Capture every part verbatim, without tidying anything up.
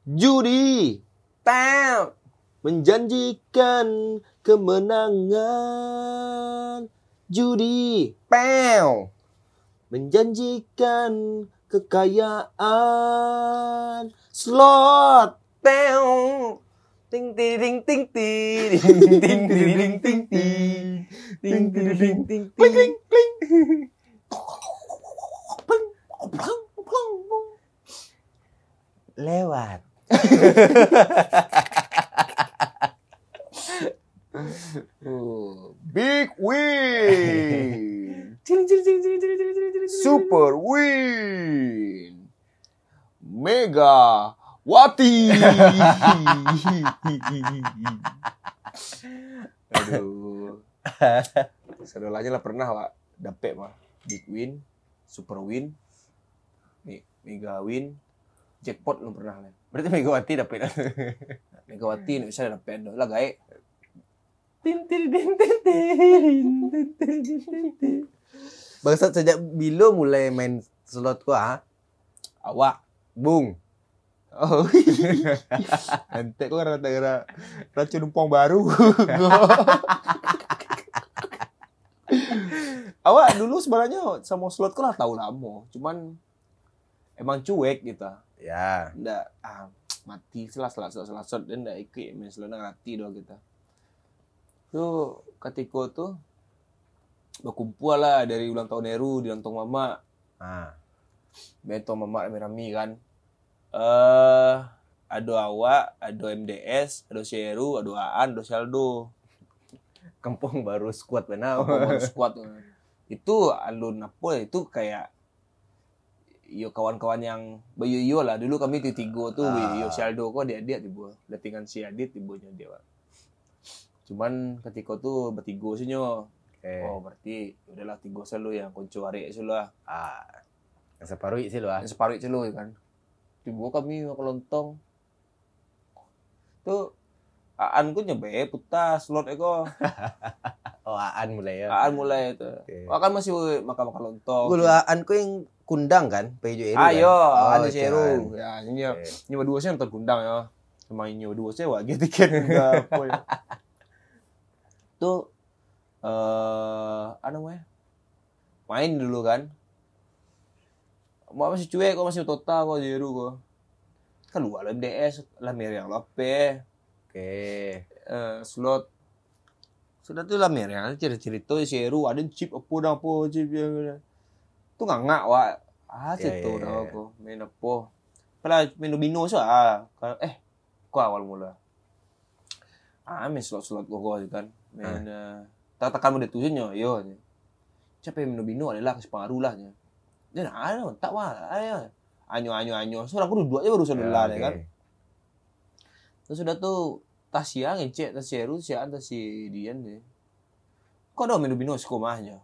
Judi tap menjanjikan kemenangan. Judi pow menjanjikan kekayaan. Slot pow ting ting ting ting ting ting ting ting ting ting ting ting ting ting lewat. Oh, big win. Super win. Mega Wati. Aduh. Saudaranya lah pernah, Pak. Dapet mah. Big win, super win, mega win, jackpot lu pernah lah. Berarti Megawati dapet. Megawati nih bisa dapet lah gae. Tin tin tin tin tin tin tin. Bangsat, sejak bila mulai main slot kau ah? Awak, Bung. oh, nanti kau gara-gara racun umpong baru. Awak dulu sebenarnya sama slot kau lah tahu lama, cuman emang cuek gitu. Ya. Nggak, ah, mati selas selas selas selas dan nggak ikut main slot ngerti doang kita. Tuh ketika tuh berkumpul lah dari ulang tahun Heru di lontong mama. Ah. Bentong mama rame-rame kan. Eh, uh, ada awak, ada M D S, ada si Heru, ada Aan, ada si Aldo. Kampung baru squad benar. Kampung baru squad. Itu alun apa itu kayak yo kawan-kawan yang bayu-yo lah. Dulu kami di tiga tuh, ah. Yo si Aldo kok dia-dia tiba. Datingan si Adit tibanya dia. Cuman ketika tuh bertiga sih nyo. Okay. Oh berarti udahlah tiga selalu yang konco arek selalu lah. Ah. Yang separuh sih lu ah. Yang separuh selalu kan. Tiba kami makan lontong. Tuh Aan ku nyoba putas slot eko. Oh Aan mulai ya. Aan mulai itu. Okay. Aan masih makan-makan lontong. Gulu Aan ku yang kundang kan, Pejo Eru. Ayo, kan? Aan si Eru. Ya, ini okay. Nyoba dua sih nonton kundang ya. Sama nyoba dua sih wah tiket enggak apa ya. Tuh eh uh, apa namanya? Main dulu kan. Mau masih cuek kok, masih total kok Jeru kok. Keluar M D S lah Meriang Lope. Oke. Uh, slot sudah tuh lah Meriang cerita-cerita si Jeru ada chip apa dah apa chip yang tuh nggak ngak wak. Ah situ yeah, dah aku main apa. Pernah main domino sih ah. Eh kok awal mula. Ah main slot-slot kok kan. Main uh, tak-takan mode tujuannya yo. Siapa yang main domino adalah keseparuh lah nya. Dia nak ada tak wah ayo anyo anyo anyo so aku duduk aja baru saudara ya, okay. Kan terus sudah tuh Tasya ngecek Tasya Heru si ada si Dian deh kok ada main domino sekomahnya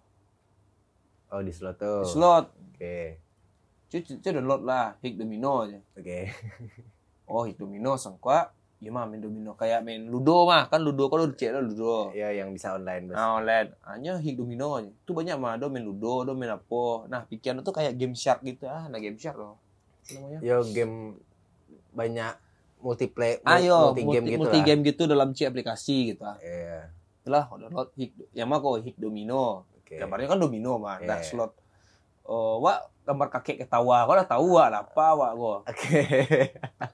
oh di slot tuh di slot oke okay. Cuci cuci download lah hik domino aja oke okay. Oh hik domino sangka ya mah main domino kayak main ludo mah kan ludo kalau cek lah ludo ya yang bisa online nah online hanya hik domino aja tuh banyak mah ada main ludo ada main apa nah pikiran tuh kayak game shark gitu ah nah game shark loh namanya yo game banyak multiplayer ayo multi game gitu multi lah. Game gitu dalam C aplikasi gitu ah iya itulah download hik yang mah kok hik domino okay. Gambarnya kan domino mah yeah. Nah slot oh wak gambar kakek ketawa kau udah tahu wak apa wak kok oke okay.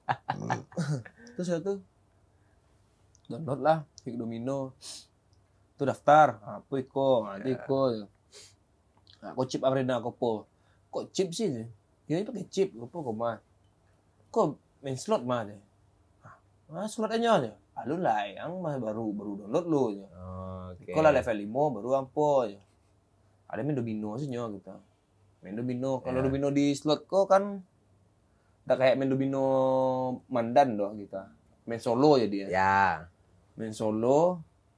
Terus ya tuh download lah hik domino tuh daftar apa iko nanti iko nah, kok chip arena kok po kok chip sih nih ini pakai chip kok po kok mah kok main slot mah deh ah slot aja aja alun lah yang mah baru baru download lu ya oh, okay. Kalau level lima baru ampo ya ada main domino sih nyo gitu main domino kalau yeah. Domino di slot kok kan tak kayak main domino mandan doang gitu. Main solo jadi ya. Ya. Main solo.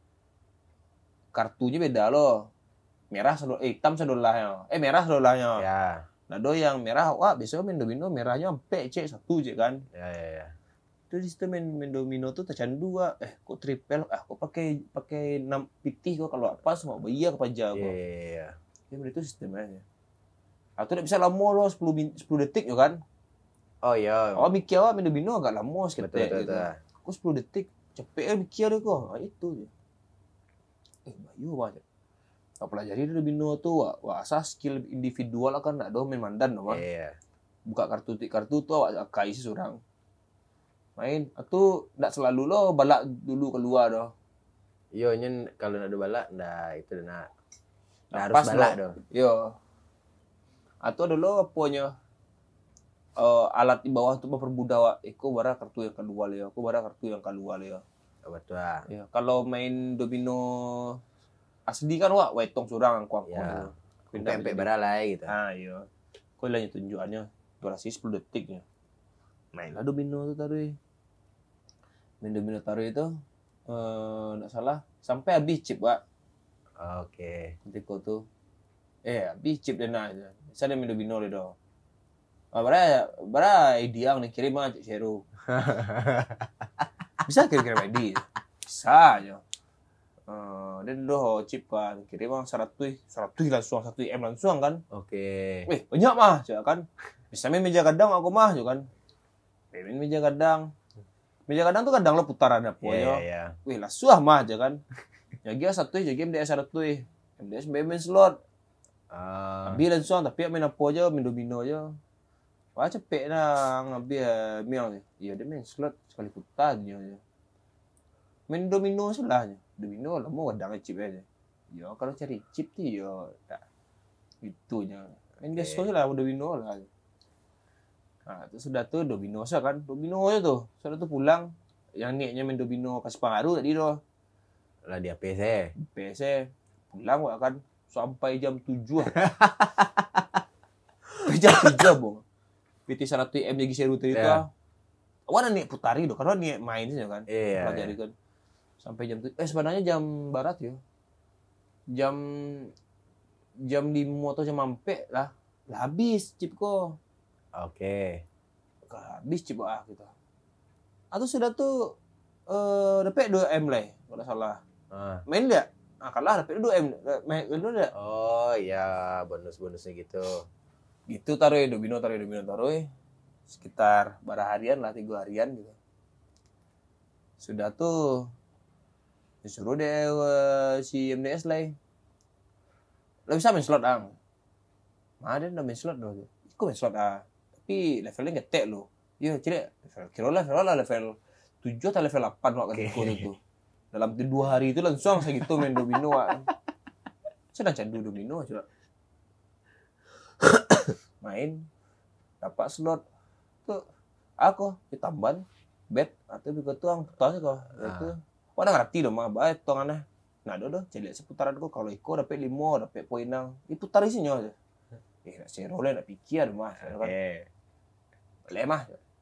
Kartunya beda loh. Merah sodol, eh, hitam sodolahnya. Eh merah sodolahnya. Ya. Nah do yang merah, wah biasanya main domino merahnya sampai C satu C kan. Ya ya ya. Itu di situ main, main domino tuh tercandu dua. Eh kok triple, eh kok pakai pakai enam pitih kok kalau apa semua bayar ke pajak kok. Iya iya iya. Ya itu sistemnya. Atau tidak bisa lama loh sepuluh detik ya kan. Oh iya. Oh mikir awak main domino agak lama seketik Betul, betul, gitu. betul. Aku sepuluh detik cepet kan mikir dia kok. Ah, itu je. Eh bayu banget. Kau pelajari domino tu wak, wak asas skill individual lah kan nak do main mandan mah. Iya. Buka kartu kartu tu awak akai isi seorang. Main atau ndak selalu lo balak dulu keluar doh. Yo nyen kalau nak ada balak ndak itu nak. Ndak harus Pas balak lo. doh. Yo. Atau dulu punya uh, alat di bawah tu mempermudah wak. Eko bara kartu yang kedua le. Aku bara kartu yang kedua le. Oh, betul. Ah. Ya, kalau main domino asli kan wak wetong surang kuang Ya. kuang. Sampai bara lah gitu. Ah iya. Kau lah tunjukannya durasi sepuluh detiknya. Mainlah domino tu tadi. Main domino taruh itu eh enggak salah sampai habis chip wak. Oke. Nanti kau tu eh habis chip dia nak aja. Saya main domino le doh. Ah bara bara idea yang kirim aja Zero. Bisa kirim-kirim I D. Bisa aja. Uh, dan doh chip kan kirim bang seratus seratus langsung satu M langsung kan. Oke. Weh banyak mah cak kan. Bisa main meja gadang aku mah juga kan. Main meja gadang. Meja gadang tuh kadang lo putaran apa Iya, ya. iya. Wih langsung mah aja kan. Jaga satu jaga M D S satu. M D S main slot. Ah. Ambil langsung tapi main apa aja main domino aja. Wah cepet lah ngambil miang ni. Ya dia main slot sekali putar je. Main domino selahnya. Domino lama kadang chip aja. Ya kalau cari chip tu ya tak itunya. Main Okay. biasa lah domino lah. Nah, tu sudah tu domino sah kan. Domino aja tu. Sudah tu pulang yang niatnya main domino kasih pengaruh tadi tu. Lah dia P C. P C pulang wak kan sampai jam tujuh. jam tujuh bong. P T seratus M lagi seru tadi tu. Ya. Awak nak niat putari tu karena niat main saja kan. Iya. Pelajari kan. Sampai jam tujuh. Eh sebenarnya jam barat ya. Jam jam lima atau jam empat lah. Lah habis chip ko. Oke. Habis chip ah kita. Atau sudah tu eh dapat dua M lah kalau tak salah. Ah. Main tak? Ah kalah dapat dua M. Main dulu tak? Oh iya, bonus-bonusnya gitu. Gitu taruh domino taruh domino taruh sekitar berapa harian lah tiga harian gitu. Sudah tuh disuruh deh uh, si M D S lah. Lo bisa main slot ang. Ada dah main slot doh. Ikut main slot ah. Tapi levelnya ngetek lo. Ya tidak level kira level lah level tujuh atau level delapan waktu okay. Itu. Dalam dua hari itu langsung saya gitu main domino ah. Saya dah candu domino coba. Main dapat slot tuh aku ditamban bet atau begitu tuang tuang kok itu wah ngerti dong mah baik tuangannya nah dodo jadi seputaran kok kalau iko dapat lima dapat poin nang diputar isinya aja eh nak zero lah nak pikir mah kan boleh mah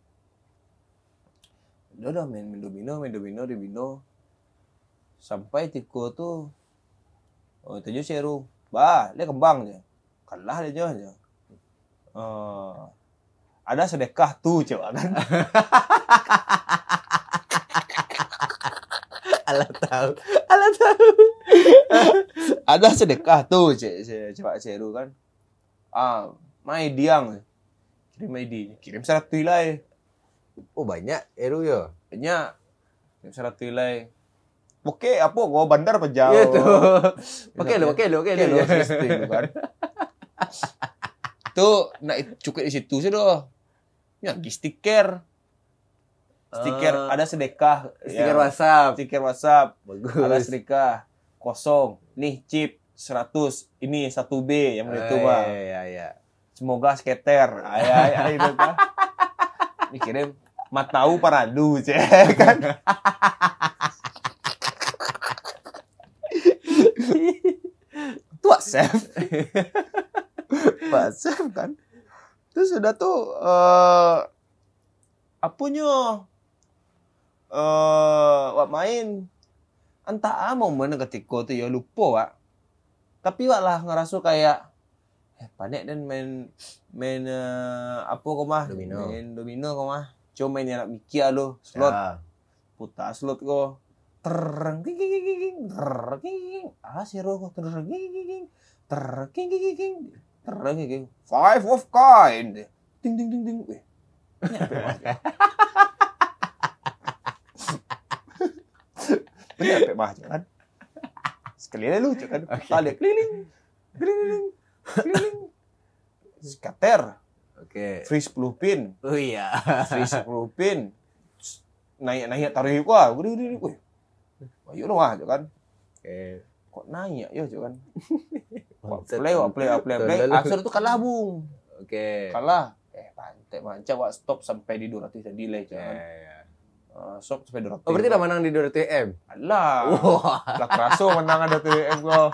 dodo main main domino main domino domino sampai tiko tuh oh tujuh zero bah dia kembang aja kalah dia aja. Uh, ada sedekah tuh coba kan. Alah tahu, alah tahu. Ada sedekah tuh coba seru kan. Ah, mai diang. Kirim I D, kirim seratus nilai. Oh banyak eru yo. Banyak. Kirim seratus nilai. Oke, apa gua bandar apa jauh? Iya tuh. Oke lo, oke lo, oke lo. Kan. Tuh nak cukup di situ sih doh. Ya, di stiker. Stiker uh, ada sedekah. Stiker ya. WhatsApp. Stiker WhatsApp. Bagus. Ada sedekah. Kosong. Nih chip seratus. Ini satu B yang itu, Bang. Iya, iya, iya. Semoga skater. Ayah, ayah itu kan. Ini kirim Matau Paradu, cek kan. Itu WhatsApp. WhatsApp kan. Terus sudah tuh uh, apanya uh, wak main entah apa momen ketika tuh ya lupa wak. Tapi wak lah ngerasa kayak eh panik dan main main uh, apa kau mah domino. Main domino kau mah. Cuma main yang nak mikir lo slot. Ya. Putar slot kau. Tereng ging ging ging tereng ging ah zero kau tereng ging ging tereng ging ging ging tereng ging five of kind ding ding ding ding eh Nyampe mah kan. Sekali aja lucu kan. Tali keliling. Keliling. Keliling. Skater. Oke. Free sepuluh pin. Oh iya. Free sepuluh pin. Naik-naik tarik gua. Gede gede gede. Ayo dong ah kan. Oke. Kok naik ya kan. Play, play, play, play. Akhir itu kalah bung. Oke. Kalah. Eh pantai manca wak stop sampai di dua ratus delay kan. Ya. Uh, stop sampai dua ratus. Oh berarti udah menang di dua ratus M. Alah. Wah. Lah keraso menang ada dua ratus M gua.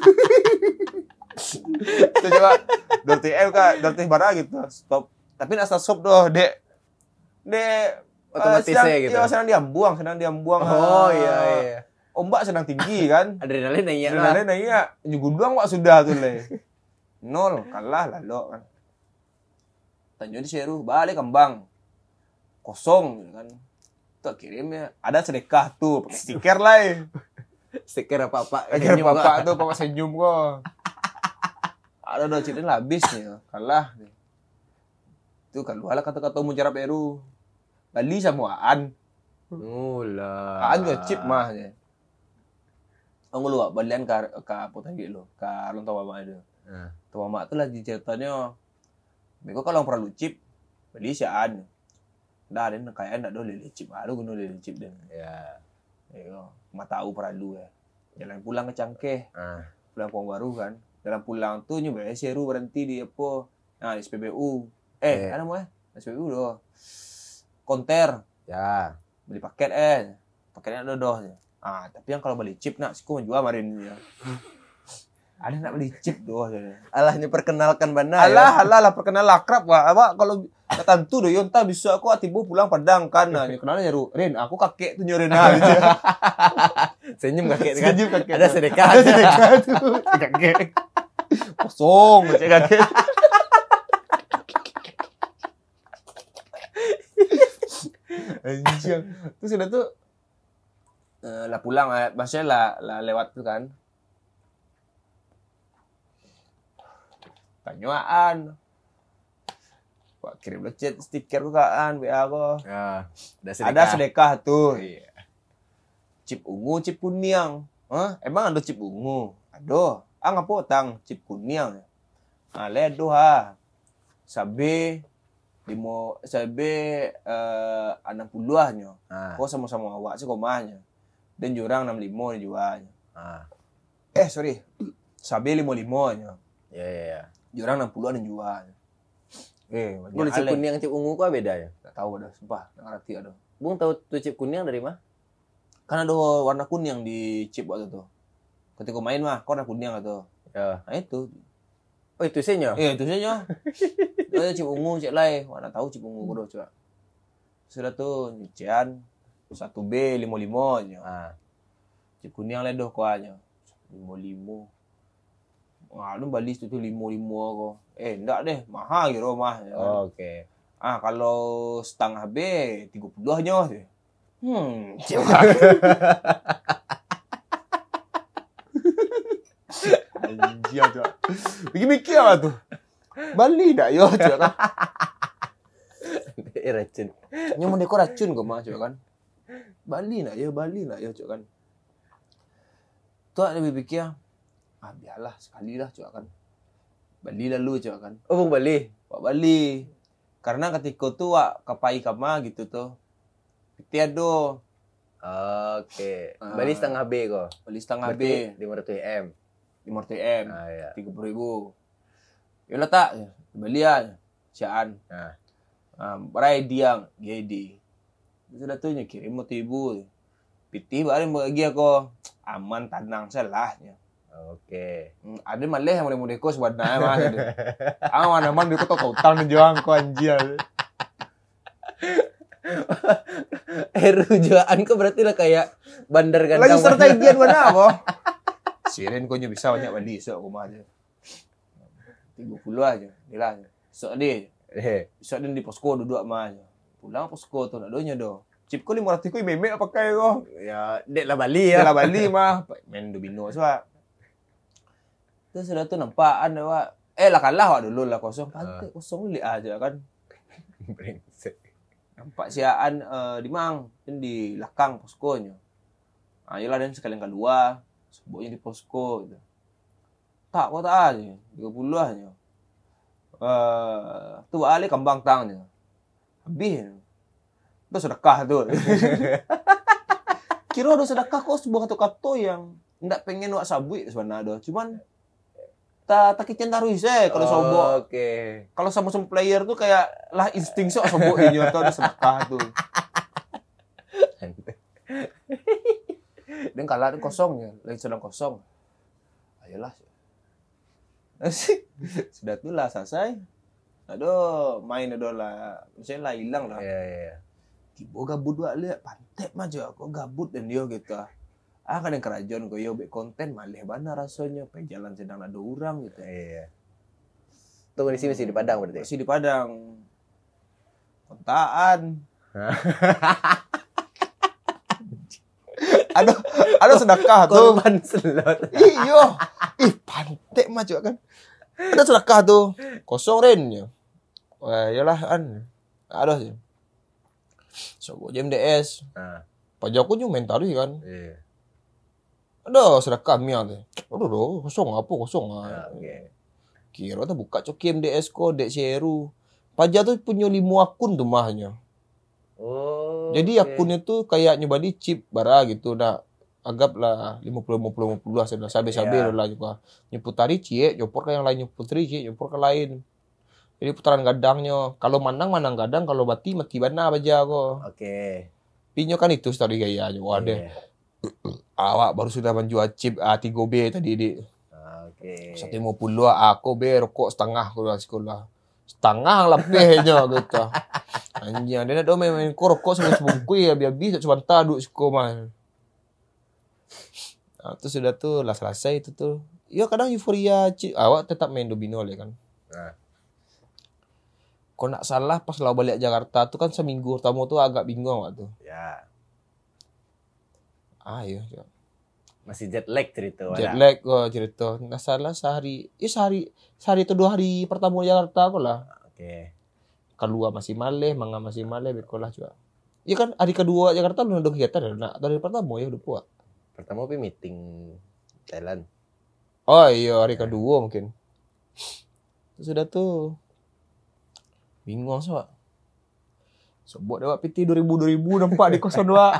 Itu juga dua ratus M kak, dua ratus bara gitu. Stop. Tapi asal stop doh, Dek. Dek otomatis uh, gitu. Iya, sedang diambuang, sedang diambuang. Oh iya iya. Ombak sedang tinggi kan. Adrenalin naik lah. Adrenalin naik ya. Nyuguduang wak sudah tuh le. Nol, kalah lalu kan. Tanya di Seru, balik kembang. Kosong gitu kan. Tuh kirimnya. Ada sedekah tuh, pakai stiker lah. Stiker apa-apa. Stiker apa-apa tuh, pakai senyum kok. Ada udah cerita lah habis nih, kalah. Itu kan lah kata-kata mujarab Eru. Bali samuaan. Mula. Aan juga chip mah ya. Ang luwa balian ka ka putan gitu, ka long tawa mama itu. Nah. Tawa mama tuh lagi ceritanya. Beko kalau perlu chip, beli siaan. Dah den kayak ndak do lele chip, aduh gunu lele chip den. Ya. Yo, mah tahu perlu ya. Jalan pulang ke Cangkeh. Ah. Pulang Puang Baru kan. Dalam pulang tuh nyoba Seru berhenti di apa? Nah, di S P B U. Eh, Eh. ada mau ya? S P B U doh. Konter. Ya. Beli paket eh. Paketnya ada doh. Ah, tapi yang kalau beli chip nak, aku menjual kemarin ya. Ada nak beli chip doh. Alahnya perkenalkan bana. Alah, alah, lah perkenal akrab wah. Apa kalau tentu doh yonta bisa aku atibu pulang Padang kan. Nah, kenalnya Ru. Rin, aku kakek tuh nyorin ah gitu. Senyum kakek kan. Senyum kakek. Ada sedekah. Ada sedekah tuh. Kakek. Kosong, cek kakek. Anjing. Terus udah tuh uh, lah pulang, maksudnya lah, lah lewat tuh kan. Tanyaan. Wah, kirim lo chat stiker kok kan, W A kok. Ya, ada sedekah. Ada sedekah tuh. Iya. Chip ungu, chip kuning. Hah? Emang ada chip ungu? Aduh, ah ngapo tang chip kuning. Ah, ledo ha. Sabe limo sabe uh, enam puluh ahnya. Ah. Kok sama-sama awak sih komanya. Dan jurang enam puluh lima nih jualnya. Ah. Eh, sorry. Sabe lima puluh lima nya. Ya ya ya. Jurang enam puluh dan jualnya. Eh, Bung chip kuning chip ungu kok beda ya? Enggak tahu ada, sumpah, enggak ngerti ada. Bung tahu tuh chip kuning dari mana? Kan ada warna kuning di chip waktu itu. Ketika main mah, kok warna kuning atau? Ya. Nah itu. Oh itu sih nyo? Iya itu saja. Ada chip ungu, cek lai. Mana tahu chip ungu kudu coba. Sudah tuh nyician satu B lima puluh lima aja. Ah. Chip kuning lah doh kuahnya. lima puluh lima. Wah, lu balik itu lima puluh lima kok. Eh, enggak deh, mahal gitu mah. Ya. Oh, oke. Okay. Ah, kalau setengah B tiga puluh aja sih. Hmm, anjir tuh. Mikir-mikir apa tuh? Bali dak yo coba kan. Racun. Nyamun deko racun kok mah coba kan. Bali nak yo, Bali nak yo coba kan. Tuh ada pikir, ah biarlah sekali lah coba kan. Bali lalu coba kan. Oh, Bung Bali. Wak Bali. Karena ketika tuh wak kapai kama gitu tuh. Tiado. Oke. Ah. Bali setengah B kok. Bali setengah B. lima ratus M. lima ratus M. Ah ya. tiga puluh ribu. Yolah tak. Bali ya. Siaan. Nah. Ah, berai diang. G D. Sudah tuh kirim motor ibu. Pitih bari bagi aku. Aman tenang salahnya. Oke. Hmm, ada malah yang mulai deko sebenarnya mah. Ah mana man deko tau tang juang ko anjir. Eh rujukan kok berarti lah kayak bandar gantang. Lagi serta idian mana apa? Siren kau bisa banyak Bali so aku mah aja. tiga puluh aja. Nilai. So deh. Eh. So din di posko duduk mah aja. Pulang posko tuh nak donya do. Chip ko lima ratus ko memek pakai ko. Ya, dek lah Bali ya. Lah Bali mah main domino so. Terus sudah tuh nampakan Wak. Eh lah kalah Wak dulu lah kosong. Pantai kosong li aja kan. Brengsek. Nampak siaan uh, di mang, di belakang poskonya. Ayolah dan sekalian kedua, sebutnya di posko gitu. Tak kok tak aja, tiga puluh aja. Eh, tu ali kembang tangnya. Habis. Udah sedekah tuh. Kira udah sedekah kok sebuah kata-kata yang ndak pengen wak sabui sebenarnya. Cuman tak tak kicen taruh saya kalau sobok. Oke. Okay. Kalau sama-sama player tuh kayak lah insting sok sobok ini atau udah sedekah tuh. Dan kalah kosong ya, lagi sedang kosong. Ayolah. Sudah tuh lah selesai. Aduh, main aduh lah. Misalnya lah hilang lah. Iya, iya, iya. Kibo gabut dua lihat pantek mah jo aku gabut dan dia gitu. Ah kan yang kerajaan kau yo be konten malih bana rasanya pe jalan sedang ada orang gitu. Iya. Tuh di sini masih di Padang berarti. Masih di Padang. Kontaan. Aduh, aduh sedekah tuh. Korban slot. Iyo. Ih, pantek mah jo kan. Ada sedekah tuh. Kosong ren ya. Wah, iyalah an. Aduh sih. So, gue M D S. Nah. Pajakku juga main tadi kan. Iya. Ada sedekah miang tuh. Aduh, aduh, kosong apa kosong ah. Nah, oke. Okay. Kira tuh buka coki M D S ko dek seru. Pajak tuh punya lima akun tuh mahnya. Oh. Jadi okay. akunnya tuh kayak nyoba di chip bara gitu dah. Anggaplah lima puluh lima puluh lima puluh lah sudah sabe-sabe yeah. lah juga. Nyeputari cie, nyopor ke yang lain nyeputari cie, nyopor ke lain. Jadi putaran gadangnya. Kalau manang manang gadang, kalau mati mati bana aja kok. Oke. Okay. Pinyo kan itu tadi gaya aja. Waduh. Yeah. Awak baru sudah menjual chip A tiga B tadi di. Oke. seratus lima puluh aku be rokok setengah kalau sekolah. Setengah lebihnya gitu. Anjing, dia nak main-main ko rokok sebelum sebungkui ya biar bisa cuma taduk sekolah. Nah, itu sudah tuh lah selesai itu tuh. Ya kadang euforia cip, awak tetap main domino ya kan. Nah. Kau nak salah pas lau balik Jakarta tuh kan seminggu pertama tuh agak bingung waktu. Ya. Ah iya. Ya. Masih jet lag cerita. Jet lag kok cerita. Nggak salah sehari. Ya sehari. Sehari atau dua hari pertama Jakarta aku lah. Oke. Okay. Kedua masih maleh, manga masih maleh, bekolah juga. Iya kan hari kedua Jakarta lu udah kegiatan nak dari pertama ya udah puas. Pertama pi meeting Thailand. Oh iya hari kedua mungkin. Sudah tuh bingung soal. Sobok dewa P T dua ribu dua ribu nampak di kosan dua.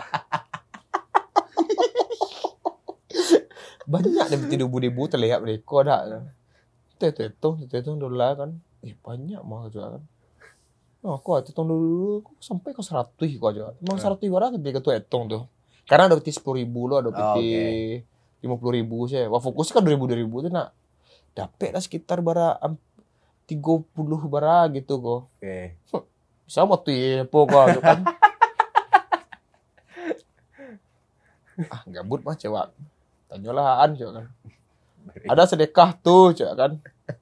Banyak deh P T dua ribu terlihat mereka dah. Tetong, tetong dolar kan. Eh banyak mah juga kan. Oh, kok tetong dulu sampai ke seratus kok aja. Emang seratus orang ketika tuh etong tuh. Karena ada P T sepuluh ribu loh, ada P T oh, okay. lima puluh ribu sih. Wah fokus kan dua ribu dua ribu tuh nak. Dapat lah sekitar bara tiga puluh bara gitu kok. Oke. Okay. Bisa mau tuh ya pokok kan. Ah gabut mah cewek. Tanyalah an cewek kan. Ada sedekah tuh cewek kan.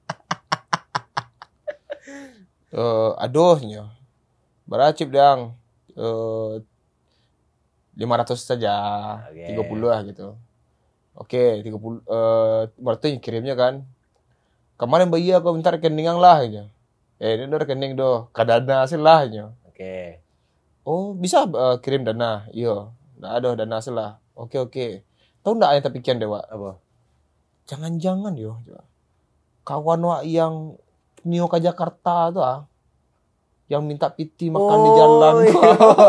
Uh, aduhnya beracip dang uh, lima ratus saja okay. tiga puluh lah gitu. Oke okay, tiga puluh uh, berarti kirimnya kan kemarin bayi aku minta rekening lah aja. Eh ini udah rekening doh kadana hasil lah aja. Oke okay. Oh bisa uh, kirim dana iya nggak ada dana hasil lah. Oke okay, oke okay. Tahu nggak yang terpikiran dewa apa jangan-jangan yo kawan wak yang Nio ke Jakarta tuh ah. Yang minta piti makan oh, di jalan. Iya.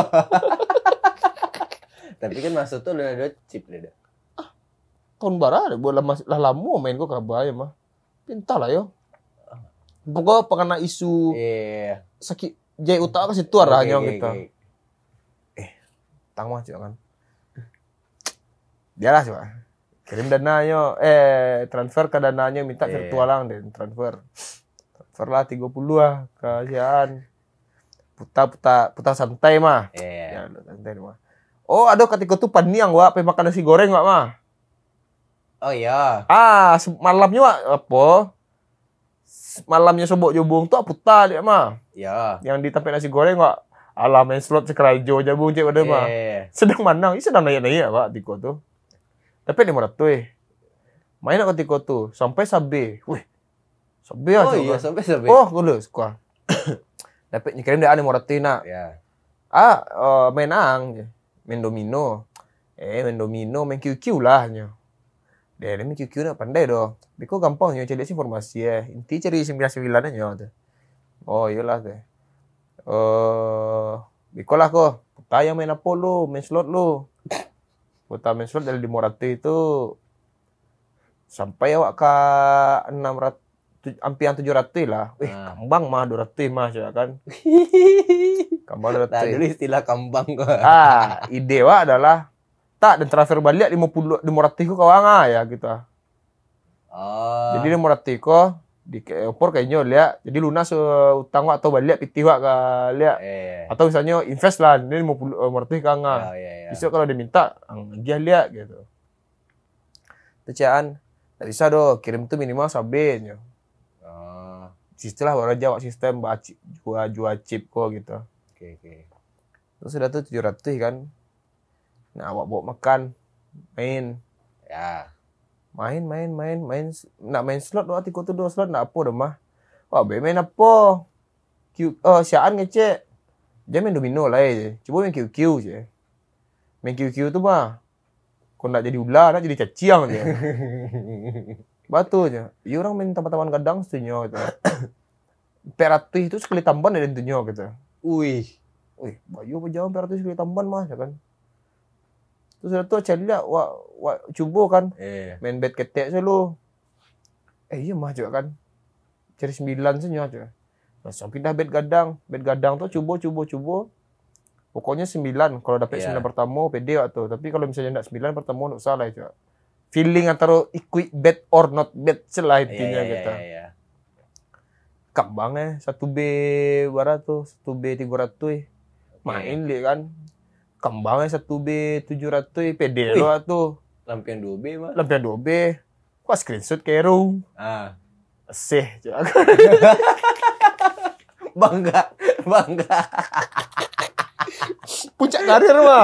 Tapi kan maksud tuh udah ada chip deh. Ah, tahun baru buat lama lah lama main kok kabaya mah. Pintar lah yo. Pokoknya pengen isu yeah. sakit jai utara ke situ arah okay, nyong okay, kita. Okay. Eh, tang mah kan. Dialah coba. Kirim dananya eh transfer ke dananya minta yeah. virtual lang deh transfer. Lah tiga puluh lah kasihan. Puta-puta puta santai mah. Yeah. Ya, santai mah. Oh, ada ketika tuh paniang wa pe makan nasi goreng wa mah. Oh iya. Ah, malamnya wa apa? Malamnya sobok jobong tuh puta dia mah. Iya. Yang ditampil nasi goreng wa alam main slot sekerajo jabung cek pada mah. Sedang manang, ini sedang naik-naik wa tiko tuh. Tapi lima ratus eh. Main ketika tuh sampai sabe. Wih. Sabe oh iya, sampai sabe. Oh, gue suka. Dapat nyikirin dia ada moratina. Ya. Ah, uh, main ang, main domino. Eh, main domino, main Q Q lah nyo. Dia main Q Q nak pandai doh. Biko gampang nyo cari informasi eh. Inti cari sembilan sembilan aja tuh. Oh, iyalah tuh. Eh, biko lah kok. Putar yang main apa lu, main slot lu. Putar main slot dari lima ratus itu sampai awak ke enam ratus hampir tujuh ratus lah. Eh, nah. Kambang mah dua ratus mah coba kan. Kambang dua ratus. Nah, dulu istilah kambang kok. Ah, ide wa adalah tak dan transfer balik lima puluh lima ratus ku kawang ah ya gitu. Oh. Jadi lima ratus ku di opor kayaknya lihat. Jadi lunas uh, utang wa atau balik pitih wa ka lihat. Eh. Atau misalnya invest lah ini lima puluh lima ratus kang ah. Oh, iya, iya. Besok kalau dia minta dia lihat gitu. Tecian tak bisa doh kirim tuh minimal sabenya. Istilah baru jawab sistem jual jual chip kok gitu. Oke oke. Terus sudah tuh tujuh ratus kan. Nah, awak bawa makan, main. Ya. Main main main main nak main slot doa tiga tuh dua slot nak apa dah mah. Wah, be main apa? Q oh, siaan ngecek. Dia main domino lah je. Coba main Q Q je. Main Q Q tuh mah kau nak jadi ular, nak jadi caciang je. Batu aja. Ya orang main taman-taman gadang setunya gitu. Peratus itu sekali tamban ada tentunya gitu. Wih. Wih, bayu apa jauh peratus sekali tamban mah ya kan. Terus ada tuh cari lihat wak wak cuba kan. Eh. Main bet ketek selalu. Eh iya mah juga kan. Cari sembilan saja aja. Langsung pindah bet gadang. Bet gadang tuh coba coba coba. Pokoknya sembilan. Kalau dapat yeah. sembilan pertama pede waktu. Tapi kalau misalnya enggak sembilan pertama enggak salah aja. Feeling antara equate bet or not bet celah intinya yeah, gitu. Yeah, yeah. Kambang eh satu B berapa tuh? satu B tiga ratus. Main dia kan. Kambang eh satu B tujuh ratus pede lo tuh. Lampion dua B mah. Lampion dua B. Kok screenshot kero. Ah. Seh. Bangga, bangga. Puncak karir mah.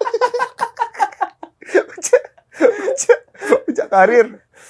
puncak, puncak, puncak karir.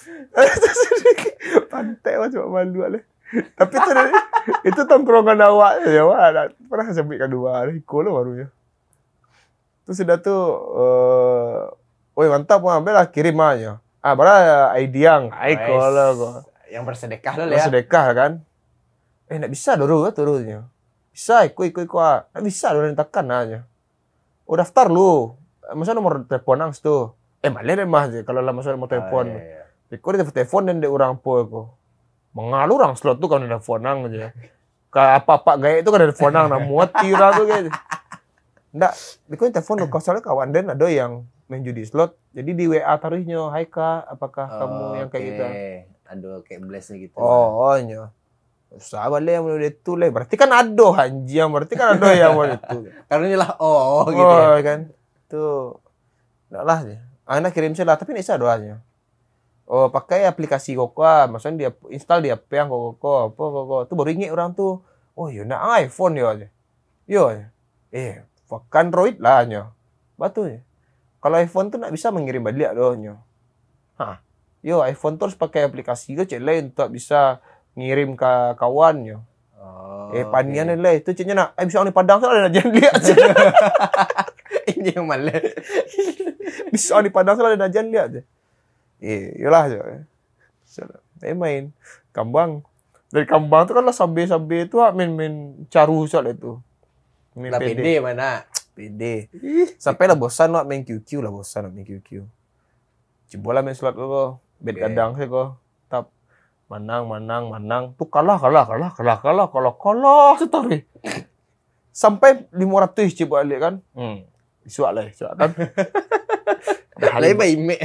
Pantai mah cuma malu lah. Tapi itu itu tongkrongan awak ya, wah pernah sampai kedua hari kolo barunya. Terus sudah tuh, uh, woi mantap mah, ambil kirim aja. Ah, bara ideang, ai kolo kok. Yang bersedekah lo ya. Bersedekah kan. Eh, enggak bisa dulu turunnya. Bisa, ikut ikut ikut. Enggak bisa dulu tekan aja. Oh, daftar lu. Masa nomor telepon ang tuh. Eh, malah deh mah kalau lah masa nomor telepon. Ah, iya, iya. Ikut dia telepon dan dia orang po ko. Mengalur orang slot tuh kan ada fonang aja. Kayak apa-apa gaya itu kan ada fonang nah muat kira tuh gitu. Enggak, ikut telepon lu soalnya kawan dan ada yang main judi slot. Jadi di W A taruhnya, "Hai Kak, apakah oh, kamu yang kayak okay. gitu?" Ada kayak blessnya gitu. Oh, oh nya. Sahabat lah yang mulai itu lah. Berarti kan ada anjing, berarti kan ada yang mulai itu. Karena inilah oh, oh gitu oh, ya. kan. Tuh. Enggak lah sih. Anak kirim saya lah, tapi ini saya doanya. Oh, pakai aplikasi Koko, maksudnya dia install dia H P yang Koko, apa Koko. Tuh baru ingat orang tuh. Oh, ya nak iPhone ya aja. Yo. Eh, pakai Android lah nya. Batu ya. Kalau iPhone tuh enggak bisa mengirim balik doh nya. Hah. Yo, iPhone terus pakai aplikasi ke cek lain untuk bisa ngirim ke kawannya. Oh, eh, panian okay. Lah itu ceknya nak. Eh, bisa orang di Padang soalnya jangan lihat. Ini yang malah. Bisa orang di Padang soalnya jangan lihat aja. Eh, yolah aja. Saya main kambang. Dari kambang tu kan lah sambil-sambil tu main-main caru soal itu. Main lah P D mana? P D. Sampai lah bosan nak main Q Q lah bosan nak main Q Q. Coba lah main slot kau. Bet okay. Kadang sih kau. Tap menang menang menang. Tu kalah kalah kalah kalah kalah kalah kalah setari. Sampai lima ratus coba balik kan. Hmm. Isuak lah, isuak kan. Lain baik ime.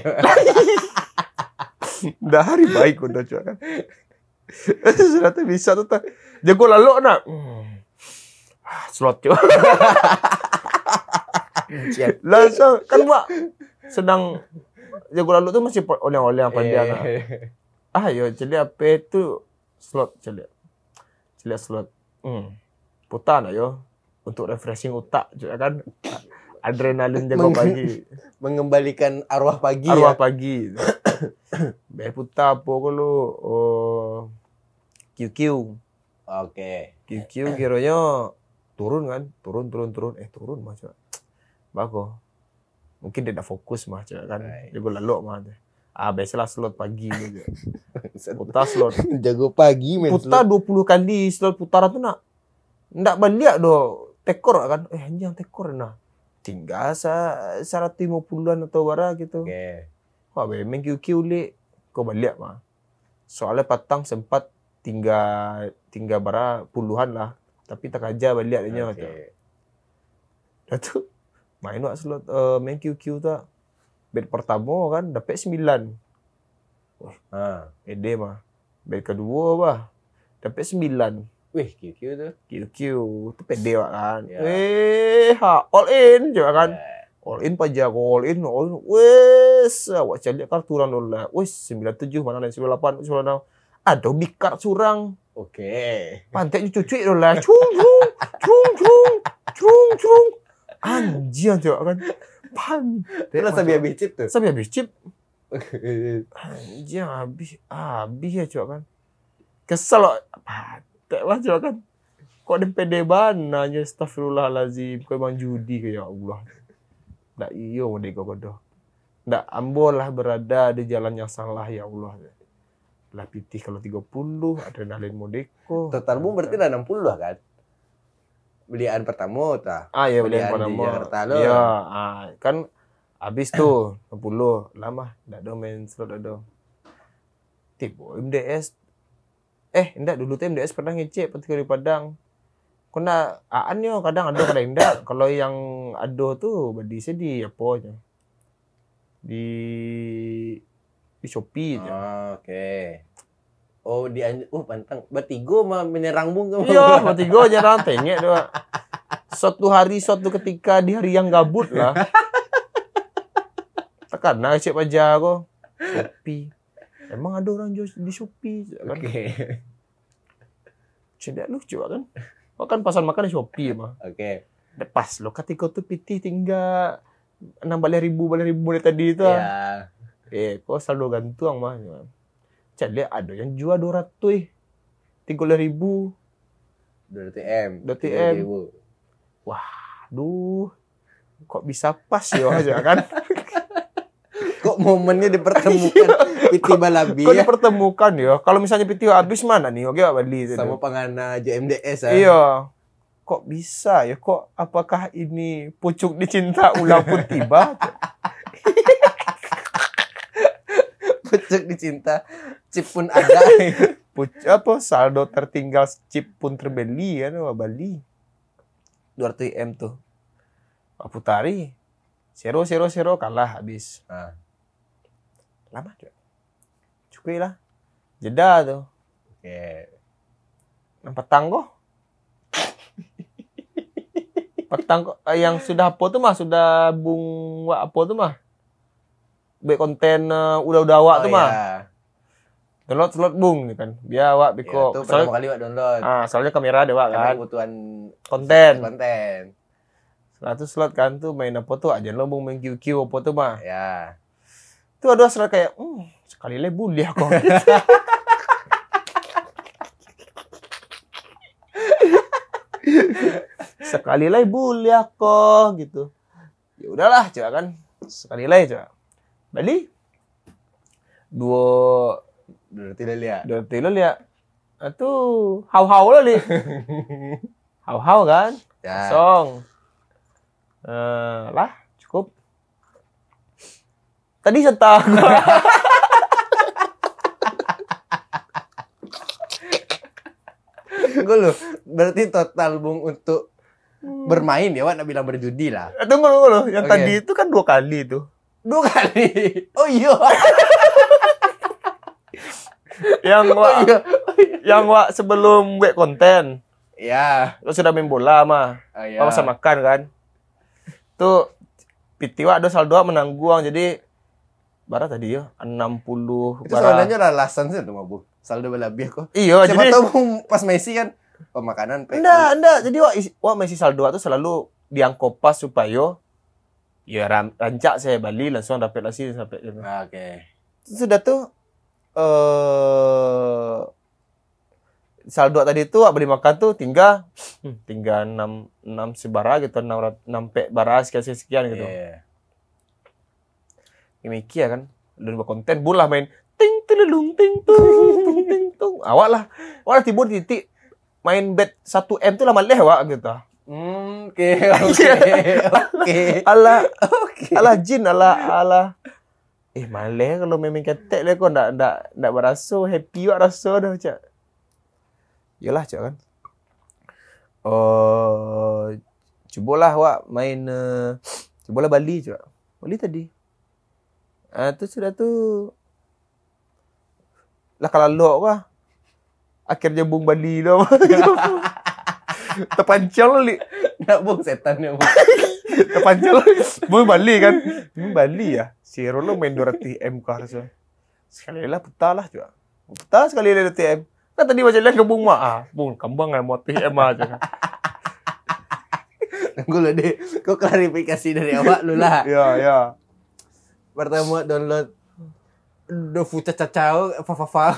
Dah hari baik udah cuak kan. Sudah tu bisa tu tak. Jago lalu nak. Hmm. Slot cuak. Langsung kan mak sedang jago lalu tu masih oleh-oleh apa dia nak. Ah yo jadi apa tu slot jadi. Jadi slot. Hmm. Putar nak yo untuk refreshing otak juga kan. Adrenalin jago pagi. Mengembalikan arwah pagi. Arwah ya? pagi. Baik putar apa kalau oh, Q Q. Oke. Q Q kiranya turun kan, turun turun turun, eh turun mah coba. Bagus. Mungkin dia tak fokus mah coba kan. Right. Dia lalu mah. Ah biasalah slot pagi gitu. Putar slot. Jago pagi men. Putar dua puluh kali slot putaran tuh nak. Ndak balik do tekor kan. Eh anjing tekor nah. Tinggal sa seratus lima puluhan atau bara gitu. Oke. Okay. Wah, main Q Q le. Kau balik mah. Soalnya patang sempat tinggal tinggal bara puluhan lah. Tapi tak aja balik dia macam. Okay. Dah tu main wak slot uh, main Q Q tu. Bet pertama kan dapat sembilan. Wah, ha, ede mah. Bet kedua bah dapat sembilan. Wih, Q Q tu. Q Q tu pede wak kan. Yeah. Eh, ha, all in je kan. Yeah. All in paja, all in, all in. Wes, awak cari kartu orang dolar. Wes, sembilan puluh tujuh mana lain sembilan puluh lapan, sembilan puluh enam. Ada bikar curang. Oke. Okay. Pantai cuci dolar. Cung cung, cung cung, cung cung. Anjir je kan. Pantai. Lah sabi habis chip tu. Sabi habis chip. Anjir habis habis ya cok kan. Kesel loh. Pantai lah cok kan. Kok ada pede bananya astagfirullahalazim. Kau memang judi ke ya Allah. Ndak iyo merdeka kodoh. Ndak ambol lah berada di jalan yang salah ya Allah. Lah pitih kalau tiga puluh, adrenalin modeko. Total bung berarti dah enam puluh lah kan? Belian pertama tah. Ah ya belian, belian pertama. Di Jakarta lo. Iya, ah, kan habis tuh enam puluh. Lama ndak ada main slot ada. Tiba M D S. Eh, ndak dulu tuh M D S pernah ngecek ketika di Padang. Kena aan yo kadang ada kadang enggak. Kalau yang ada tuh badi sedih apa aja. Di di Shopee aja. Oh, oke. Okay. Oh, di oh pantang bertiga mah menyerang bung kamu. Iya, bertiga nyerang tengek doa. Suatu hari suatu ketika di hari yang gabut lah. Tekan nak cek paja ko. Shopee. Emang ada orang jual di Shopee kan. Oke. Okay. Cedak lucu kan. Oh kan pasar makan di Shopee mah. Oke. Okay. Pas lo ketika tu piti tinggal enam belas ribu belas ribu dari tadi tu. Iya. Eh, kok saldo gantung mah. Cak lihat ada yang jual dua ratus tiga puluh ribu. dua ratus M. dua ratus M. Wah, duh. Kok bisa pas ya aja kan? Kok momennya dipertemukan Piti Balabi ya? Kok dipertemukan ya? Kalau misalnya Piti habis mana nih? Oke, Bali. Sama pengana J M D S ya? Iya. Kok bisa ya? Kok apakah ini pucuk dicinta ulang pun tiba? Pucuk dicinta, chip pun ada. Pucuk apa? Saldo tertinggal, chip pun terbeli ya, no, Bali. dua ratus M tuh. Pak Putari. Zero, zero, zero kalah habis. Ah. Lama juga. Cukup lah. Jeda tuh. Oke. Okay. Nampak tanggo. Petang yang sudah apa tuh mah? Sudah bung wak apa tuh mah? Baik konten uh, udah-udah awak oh, tuh mah. Iya. Download slot bung nih kan. Biar awak biko. Ya, itu pertama kali awak download. Ah, soalnya kamera ada awak kan. Kebutuhan konten. Konten. Satu slot kan tuh main apa tuh aja lo bung main Q Q apa tuh mah. Ya. Tuh ada slot kayak, hmm, sekali le boleh aku. Sekali lagi boleh aku gitu. Ya udahlah coba kan. Sekali lagi coba. Bali. Dua dua ratus lihat. Dua ratus lihat. Itu hau-hau lah li. Hau-hau kan? Ya. Kosong. Uh, lah cukup. Tadi setak. Gue loh, berarti total bung untuk hmm. bermain ya, Wak, nak bilang berjudi lah. Tunggu tunggu loh, yang okay. Tadi itu kan dua kali tuh. Dua kali? Oh iya. Yang Wak, oh, iya. Oh, iya. Yang Wak sebelum buat konten. Ya. Lo sudah main bola mah. Oh, iya. Masa makan kan. Tuh, Piti Wak ada saldo menangguang, jadi bara tadi ya enam puluh. Itu sebenarnya alasan sih tuh mabuk. Saldo lebih kok. Iya, siapa jadi tahu pas Messi kan pemakanan. Enggak, enggak. Jadi wah, wah Messi saldo itu selalu diangkopas supaya ya rancak saya Bali langsung dapat lagi sampai gitu. Oke. Okay. Sudah tuh eh saldo tadi itu beli makan tuh tinggal hmm, tinggal enam enam sebara gitu, enam enam pek bara sekian sekian gitu. Yeah. Ini ya kan, lu konten bulah main ting telelung ting tung ting tung. Awak lah, awak timbul titik main bet satu M tuh lama leh awak gitu. Hmm, oke oke oke. Ala oke. Ala jin ala ala. Eh maleh kalau memang ketek le kau ndak ndak ndak berasa happy wak rasa dah cak. Yalah cak kan. Oh, cubalah awak main uh, cubalah Bali cak. Bali tadi. Ah tu sudah tu. Lah kalau lok kah. Akhirnya bung Bali dah. Terpancang li. Nak bung setan ya bung. Terpancang bung Bali kan. Bung Bali ya. Si Rolo main dua ratus M kah rasa. Sekali lah putar lah juga. Putar sekali lah dua ratus M. Kan tadi macam lihat ke bung mak. Ah, bung kambang kan mau T M aja. Tunggu lah deh. Kau klarifikasi dari awak lu lah. Ya, ya. Pertama download Dofu cacau fa-fa-fa.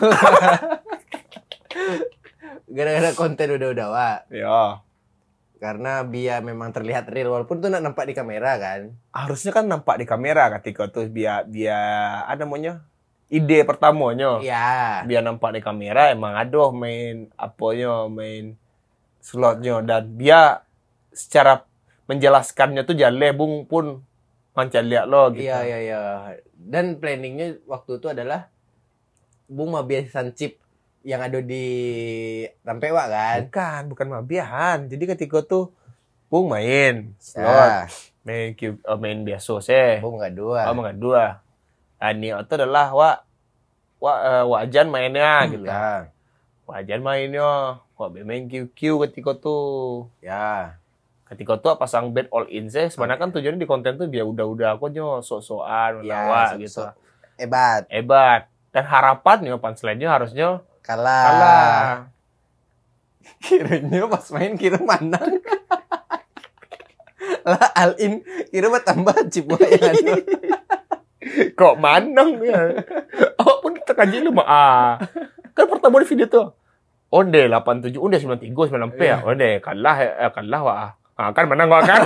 Gara-gara konten udah-udah wak. Ya. Karena biar memang terlihat real walaupun tuh nak nampak di kamera kan. Harusnya kan nampak di kamera ketika tuh biar biar ada namanya ide pertamanya. Iya. Biar nampak di kamera emang ada main apanya main slotnya dan biar secara menjelaskannya tuh jalan bung pun macam lihat lo gitu. Iya iya iya. Dan planningnya waktu itu adalah bung mabiasan chip yang ada di Rampewak kan? Bukan, bukan mabiahan. Jadi ketika tuh bung main slot, ya. main Q, oh, main biasa sih. Bung enggak dua. Oh, enggak dua. Ini itu adalah wak wak uh, wajan mainnya gitu. Ya. Wajan mainnya, wak main Q Q ketika tuh. Ya. Ketika tuh pasang bet all in sih. Sebenarnya kan tujuannya di konten tuh biar udah-udah aku nyo sok-sokan ya, wak so, gitu. So, hebat. Hebat. Dan harapannya punchline-nya harusnya kalah. Kalah. Kiranya pas main kira menang. Lah all in kira mah tambah chip yang ada. Kok manang ya? Oh pun kita kaji lu mah ah. Kan pertama di video tuh. Onde delapan tujuh, onde sembilan tiga, sembilan P ya. Onde kalah eh, kalah wah. Ah kan menang wah kan.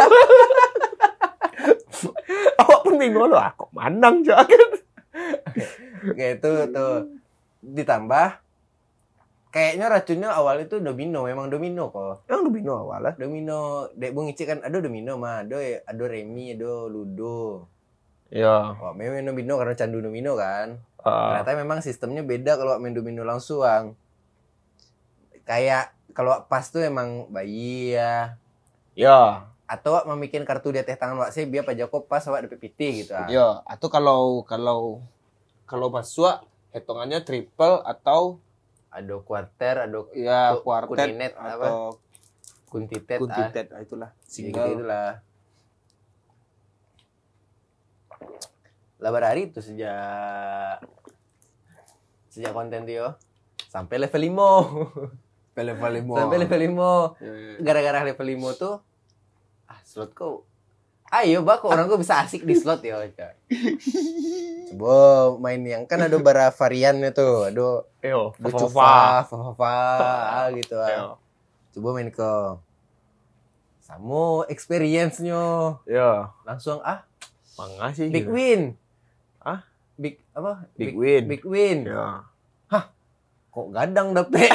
Awak pun bingung loh, ah, kok manang aja kan. Oke, itu tuh ditambah kayaknya racunnya awal itu domino, memang domino kok. Emang domino awal lah. Domino, dek bung Icik kan ada domino mah, ada ada remi, ada ludo. Iya. Oh, memang domino karena candu domino kan. Uh. Ternyata memang sistemnya beda kalau main domino langsung. Kayak kalau pas tuh emang bayi ya. Ya. Atau wak membikin kartu di atas tangan wak saya biar Pak Joko pas wak dapet piti gitu. Ah. Ya, atau kalau kalau kalau masuk hitungannya triple atau ada quarter, ada ya quarter kuninet atau apa? Kuntitet. Kuntitet ah. Itulah. Single gitu, itulah. Lah hari itu sejak sejak konten Tio sampai level lima. Sampai level lima. Sampai level lima. Ya, ya. Gara-gara level lima tuh ah slot kok. Ayo bak orang kok bisa asik di slot ya. Coba main yang kan ada bara variannya tuh. Ada Yo, Fafa, Fafa gitu. Ah. Coba main ke Samo experience-nya. Ya. Langsung ah Makasih. big win. Ah, big apa? Big, big win. Big win. Ya. Hah? Kok gadang dapet?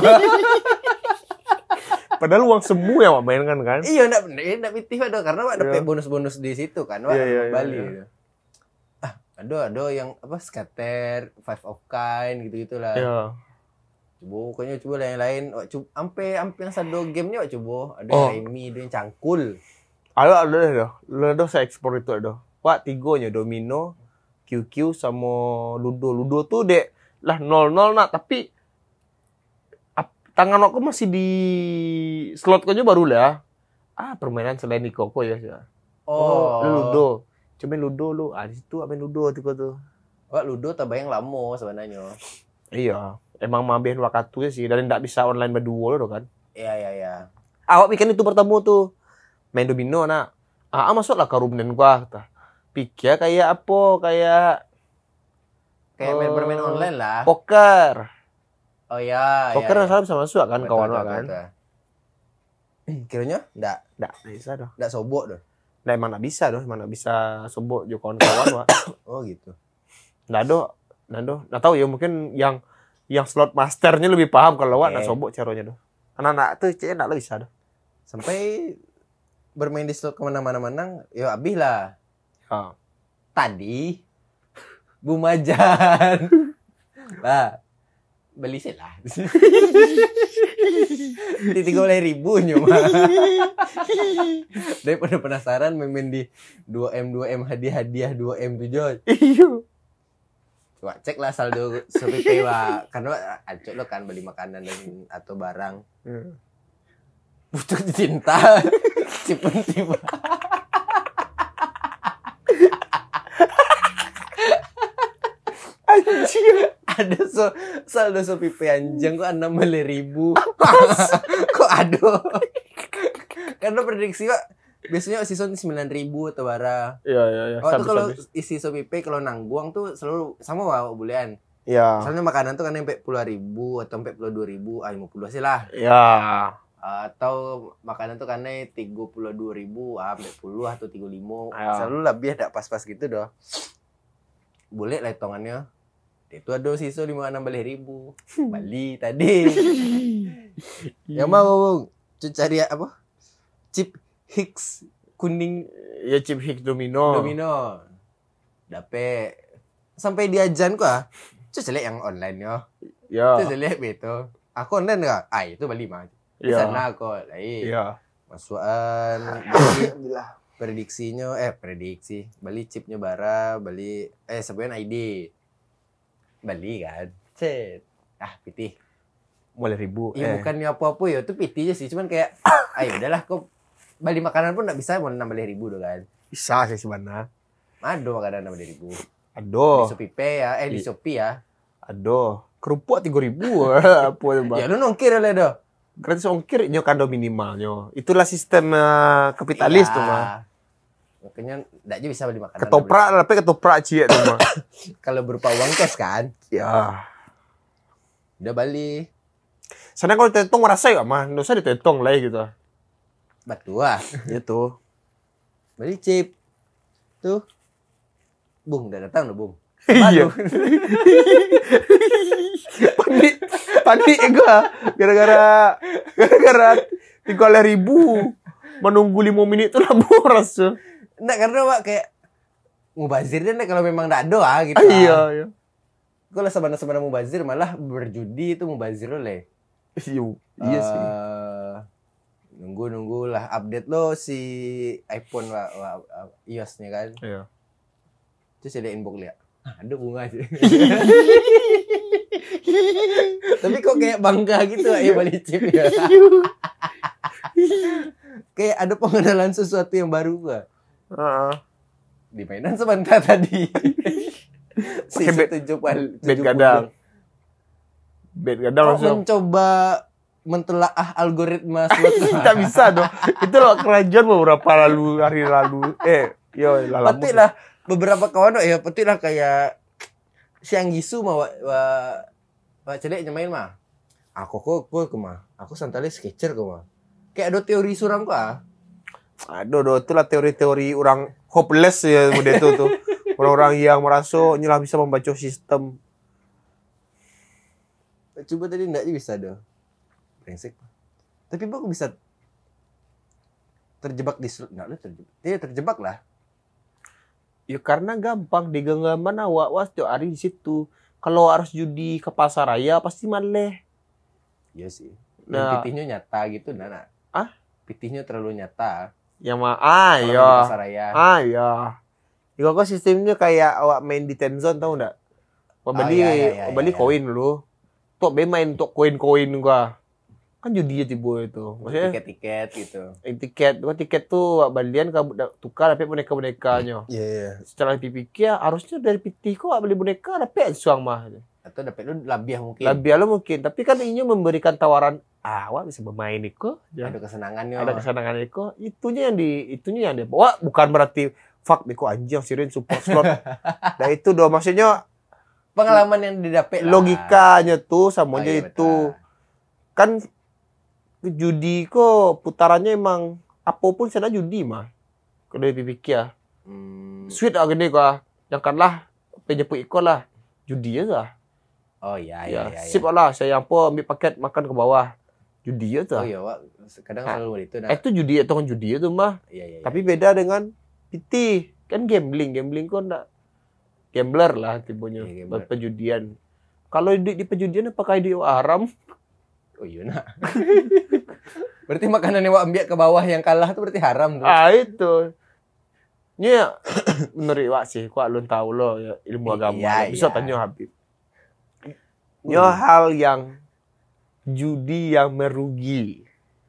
Padahal uang semua yang mainkan kan? Iya, enggak enggak pitih ada karena Wak dapet Iya. bonus-bonus di situ kan, Wak Iya, iya, Bali. iya. Ah, ada ada yang apa scatter, five of kind gitu-gitulah. Iya. Coba pokoknya coba yang lain, Wak coba ampe ampe yang sado gamenya Wak coba. Ada Oh. yang remi, ada yang cangkul. Ada ada dah. Ada saya ekspor itu ada. Wak tigonya domino, Q Q sama ludo. Ludo tuh dek lah nol nol nak tapi tangan aku masih di slot aja baru lah. Ah, permainan selain di Koko ya. Oh, oh Ludo. Coba Ludo lu. Ah, di situ apa Ludo tiko tuh. Wak Ludo tambah yang lama sebenarnya. Iya, emang mabihin waktu sih dan enggak bisa online berdua lo kan. Iya, iya, iya. Awak bikin itu bertemu tuh. Main domino nak. Ah, ah masuklah ke rumnen gua kata. Pikir kayak apa? Kayak Kayak main uh, bermain online lah. poker. Oh iya. Poker iya, nggak salah bisa masuk kan kawan betul, kan. betul. Kiranya enggak Nggak bisa doh. enggak sobok doh. Nggak emang nggak bisa doh, emang nggak bisa sebut jo kawan-kawan Wak. Oh gitu. Nggak do, nggak do. Nggak tahu ya mungkin yang yang slot masternya lebih paham kalau Wak Oke. nggak sobok caranya doh. Anak-anak tuh kayaknya nggak bisa doh. Sampai bermain di slot kemana-mana menang, ya habis lah. Ya. Tadi Bumajan. Lah, beli sih lah. Di tiga puluh ribu cuma. Daripada penasaran main di dua M dua M hadiah-hadiah dua M tujuh. Iya. Coba cek lah saldo Shopee Pay Wak. Karena acok lo kan beli makanan dan atau barang. Butuh cinta. Cipun tiba. Anjir. Ada so saldo Shopee Pay anjing kok enam puluh ribu. Kok ada? Karena prediksi Wak biasanya season sembilan ribu atau bara. Iya iya iya. Oh tuh kalau isi Shopee Pay kalau nangguang tuh selalu sama Wak bulan. Iya. Soalnya makanan tuh kan sampai puluh ribu atau sampai puluh dua ribu, ah lima puluh sih lah. Iya. Atau makanan tuh karena tiga puluh dua ribu, ah sampai puluh atau tiga puluh lima. Ya. Selalu lebih ada pas-pas gitu doh. Boleh lah hitungannya. Itu ada sisa lima enam belas ribu. Bali tadi. Yang mau Bung, cari apa? Chip Hicks kuning Ya chip Hicks domino. domino. Dapet sampai diajan kok ah. Cus lihat yang online yo. Ya. Cus lihat beto. Aku online enggak? Ah itu Bali mah. Di Ya. sana kok. Lain. Iya. Masukan Bali prediksinya eh prediksi Bali chipnya bara Bali eh sebenarnya I D Bali kan cet ah pitih Mulai ribu. iya eh. bukannya apa-apa ya itu pitih aja sih cuman kayak ayo udahlah kok Bali makanan pun nggak bisa mau enam belas ribu doh kan Bisa sih sebenarnya. ada makanan enam belas ribu di Aduh. Shopee Pay ya eh di I- Shopee ya Aduh. Kerupuk tiga ribu. Apa ya, Bang? ya lu nongkir lah doh Gratis ongkir nyo kado minimalnya. Itulah sistem uh, kapitalis Iya. tuh mah. makanya nggak aja bisa beli makanan Ketoprak tapi ketoprak cie tuh mah. kalau berupa uang cash kan Ya. udah Bali Sana kalau ditentong merasa ya mah, nggak usah ditentong lah gitu. batu ah Gitu. Beli chip. Tuh. Bung, udah datang loh, Bung. Iya. panik, panik gua gara-gara gara-gara tiga ribu menunggu lima menit itu lah boros tuh. Enggak, karena Pak kayak mubazir deh kalau memang enggak ada ah, gitu. Ah, iya, iya. Kalau sabana-sabana mubazir malah berjudi itu mubazir oleh. Iya, iya sih. Eh, nunggu-nunggu lah update lo si iPhone wa, wa, i O S-nya kan. Iya. Terus ada inbox lihat. Ada bunga sih. Tapi kok kayak bangga gitu ya balik chip ya. Kayak ada pengenalan sesuatu yang baru gua. Heeh. Di mainan sebentar tadi. Pakai bed, tujuh puluh bed gadang. Bed gadang Kok langsung. mencoba mentelaah algoritma slot. Tak bisa dong. Itu loh kerajaan beberapa lalu hari lalu. Eh, yo lama. Petik lah beberapa kawan ya petik lah kayak siang gisu mah wa, wa, wa celek nyamain mah. Aku kok kok ke mah. Aku santale sketcher kok mah. Kayak ada teori suram kok ah. Aduh, aduh, itulah teori-teori orang hopeless ya model itu tuh. Orang-orang yang merasa nyelah bisa membaca sistem. Coba tadi enggak bisa dah. Brengsek. Tapi kok bisa terjebak di slot enggak lu terjebak. Iya terjebak lah. Ya karena gampang di genggaman awak was tiap hari di situ. Kalau harus judi ke pasar raya pasti maleh. Iya sih. Nah. Nah, pitihnya nyata gitu nah. nah. Ah? Pitihnya terlalu nyata. Yang mah ah Kalau iya. di pasar raya. Ah iya. Ya kok sistemnya kayak awak main di ten zone tahu enggak? Awak beli Oh, iya, iya, iya, beli iya. koin dulu. Tok be main tok koin-koin gua. Kan judi ya tiba itu. Maksudnya Tiket-tiket gitu. eh, tiket, gua tiket tuh awak balian ke tukar dapat boneka-bonekanya. Iya, iya. Setelah dipikir harusnya dari P T kok beli boneka dapat suang mah. Atau dapat lu labiah mungkin. Lebih lo mungkin, tapi kan ini memberikan tawaran ah, awak bisa bermain Iko, ya. Ada kesenangannya. Ada kesenangan Iko, itunya yang di itunya yang dia bawa bukan berarti fuck Iko anjing sirin support slot. Nah itu doh maksudnya pengalaman yang didapat logikanya tuh sama oh, aja iya, itu. Betul. Kan judi kok putarannya emang apapun sana judi mah. Kalau dipikir ya. Hmm. Sweet ah gede kok. Yang kalah penjeput ikut lah. Judi aja. Oh iya ya, iya iya. Sip lah saya apa ambil paket makan ke bawah. Judi aja. Oh iya, Wak. Kadang nah, selalu itu nah. Itu judi atau kan judi itu mah. Iya iya. Tapi iya. beda dengan P T. Kan gambling, gambling kok enggak gambler lah tipenya. Iya, perjudian. Kalau di, di perjudian apakah itu haram? Oh iya nak. Berarti makanan yang Wak ambil ke bawah yang kalah itu berarti haram tuh. Ah itu. Ini menurut Wak sih, Wak belum tahu loh ya, ilmu agama. Iya, bisa iya. Tanya Habib. Ini uh. hal yang judi yang merugi.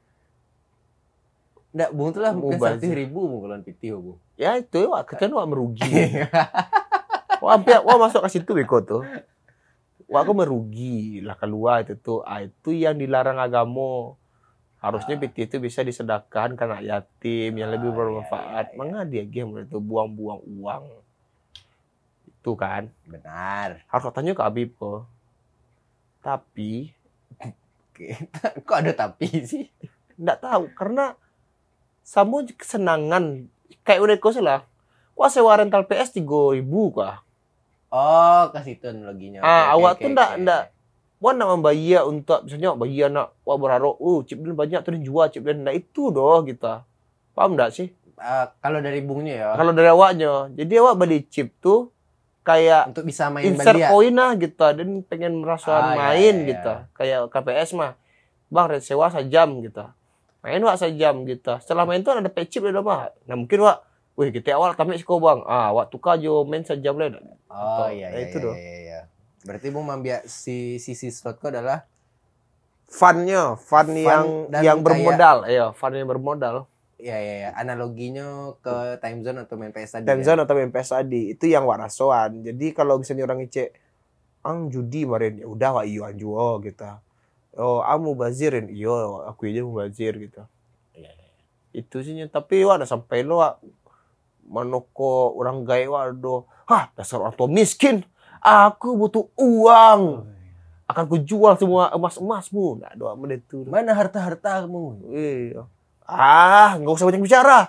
Nggak, Bung tuh lah mungkin satu ribu mungkin P T Bung. Ya itu Wak, kan Wak merugi. Wak hampir Wak masuk ke situ Beko tuh. Wak aku merugi lah keluar itu tuh. Ah, itu yang dilarang agama. Harusnya P T itu bisa disedekahkan ke anak yatim yang lebih bermanfaat. Iya, iya, iya. Mengapa dia game itu buang-buang uang? Itu kan. Benar. Harus tanya ke Habib kok. Tapi kok ada tapi sih? Nggak tahu karena sama kesenangan kayak udah kau salah. Wah sewa rental P S tiga ribu kah? Oh, kasih itu analoginya. Ah, okay, awak okay, tuh ndak okay. ndak Wah nak membayar untuk misalnya bayar nak wah berharap oh chip dan banyak tuh dijual chip dan nah itu doh kita. Paham enggak sih? Uh, kalau dari bungnya ya. Kalau dari awaknya. Jadi awak beli chip tuh kayak untuk bisa main insert poin lah gitu dan pengen merasa ah, main iya, iya, gitu. Iya. Kayak K P S mah. Bang sewa sejam gitu. Main wak sejam gitu. Setelah main tuh ada pay chip ada mah. Nah mungkin wak wih kita awal kami sih bang. Ah wak tukar jo main sejam lah. Oh iya iya, itu iya, doh. iya iya. Berarti Bung membiak si sisi slotku adalah fun-nya, fun, fun yang yang bermodal, ya, fun yang bermodal. Iya iya ya. Analoginya ke time zone atau main P S tadi. Time zone ya? Atau main P S tadi itu yang warasoan. Jadi kalau misalnya orang ngecek ang judi kemarin ya udah wak iyo anjuo gitu. Oh, amu bazirin iyo aku aja mau bazir gitu. Iya iya. Itu sih tapi wak ada sampai lo wak manoko orang gaya wak do. Hah, dasar orang tua miskin. Aku butuh uang. Akan kujual semua emas-emasmu. Nggak doa menit itu. Mana harta-hartamu? Iya. Ah, nggak usah banyak bicara.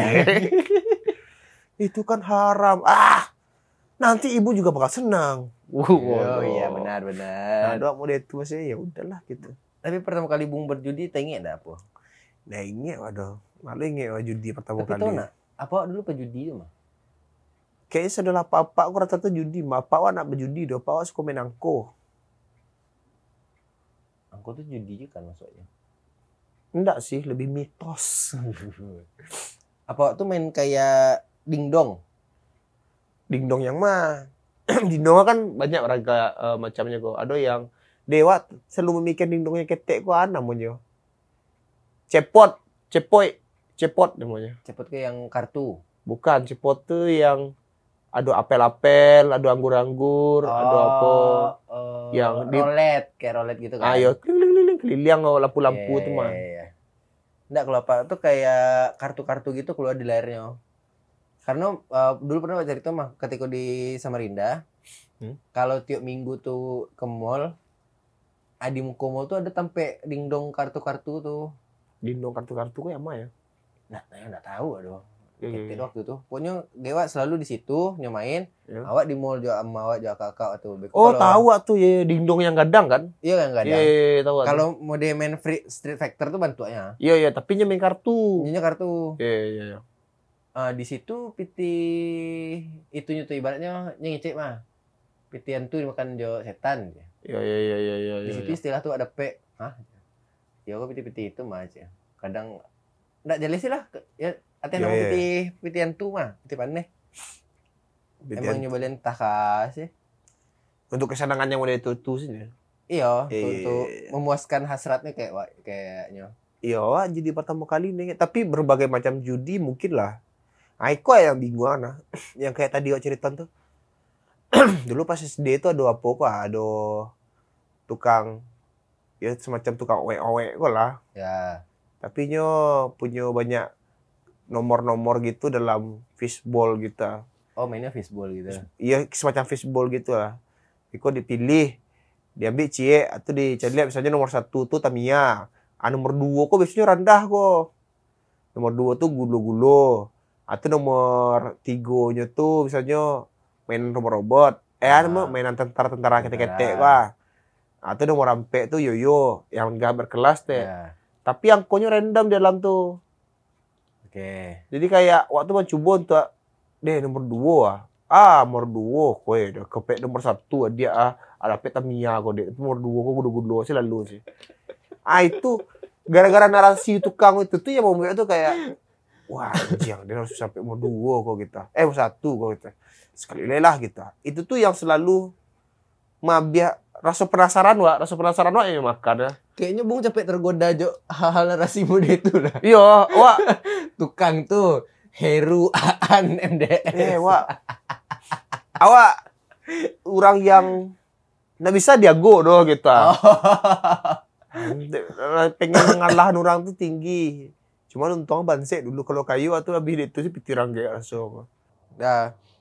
Itu kan haram. Ah, nanti ibu juga bakal senang. Wow, oh, iya benar-benar. Nah, doa menit itu masih ya udahlah gitu. Tapi pertama kali Bung berjudi, tengok enggak apa? Nah, ingat waduh. Malah ingat judi pertama Tapi kali. Tapi tahu nak, apa dulu penjudi itu mah? Kayaknya setelah papa aku rata-rata judi, mah papa nak berjudi doh, papa suka main angko. Angko tuh judi juga kan maksudnya? Enggak sih, lebih mitos. Apa tuh main kayak dingdong? Dingdong yang mah, dingdong kan banyak raga uh, macamnya kok. Ada yang dewa selalu memikirkan dingdongnya ketek kok ana namanya. Cepot, cepoi, cepot namanya. Cepot kayak yang kartu. Bukan, cepot tuh yang ada apel-apel, ada anggur-anggur, oh, ada apa uh, yang rolet, di... kayak rolet gitu kan. Ayo, keliling-keliling, keliling lampu-lampu yeah, tuh mah. Yeah, yeah. Nggak, kalau apa tuh kayak kartu-kartu gitu keluar di layarnya. Karena uh, dulu pernah baca cerita mah ketika di Samarinda, hmm? kalau tiap minggu tuh ke mall, di muka mall tuh ada tempe dingdong kartu-kartu tuh. Dingdong kartu-kartu kok yang mana ya? Nah, saya nggak tahu aduh. Gitu yeah. Waktu itu. Pokoknya Dewa selalu di situ nyomain. Yeah. Awak di mall juga sama awak juga kakak atau oh, kalau... tahu tuh ya dingdong yang gadang kan? Iya yang gadang. Iya, yeah, yeah, tahu. Kalau mode main free Street Fighter tuh bantuannya. Iya, yeah, iya, yeah, tapi nya main kartu. Nya kartu. Iya, yeah, iya, yeah, yeah. Uh, di situ piti itunya tuh ibaratnya ngecek mah. Pitian tuh dimakan jo setan. Iya, iya, iya, iya, iya. Di situ istilah tuh ada P. Hah? Ya kok piti-piti itu mah aja. Kadang enggak jelas sih lah. Ya Ati nama piti pitian tuh mah, piti paneh. Emang nyobain takas sih. Untuk kesenangan yang udah itu tuh sih. Iya, e... untuk memuaskan hasratnya kayak kayaknya. Iya, jadi pertama kali nih, tapi berbagai macam judi mungkin lah. Aiko yang bingung nah. Yang kayak tadi cerita tuh. Dulu pas S D itu ada apa kok, ada tukang ya semacam tukang owe-owe kok lah. Ya. Tapi nyo punya banyak nomor-nomor gitu dalam fishball gitu. Oh mainnya fishball gitu? Iya semacam fishball gitu lah. Iko dipilih, diambil cie, atau dicari lihat misalnya nomor satu tuh Tamiya, ah nomor dua kok biasanya rendah kok. Nomor dua tuh gulo-gulo, atau nomor tigonya tuh misalnya mainan robot-robot, eh ah. mainan tentara-tentara ketek-ketek wah. Atau nomor ampe tuh yoyo yang gak berkelas teh. Yeah. Tapi angkonya random di dalam tuh. Oke. Okay. Jadi kayak waktu mencoba untuk deh nomor dua ah nomor dua kowe udah kepek nomor satu dia ah ada pet Tamiya kok deh nomor dua kok gudu-gudu sih lalu sih. Ah itu gara-gara narasi tukang itu tuh yang membuat tuh kayak wah anjing dia harus sampai nomor dua kok kita. Eh nomor satu kok kita. Sekali lelah kita. Itu tuh yang selalu mabiak rasa penasaran wa, rasa penasaran wa ya makan ya. Kayaknya Bung capek tergoda jo hal-hal narasi muda itu lah. Iya, wa tukang tuh Heru Aan M D S. Eh, wa. Awak orang yang nggak bisa diago doh kita. Oh. Pengen ngalahin orang tuh tinggi. Cuman untung banse dulu kalau kayu atau lebih itu sih pikiran kayak langsung. Nah,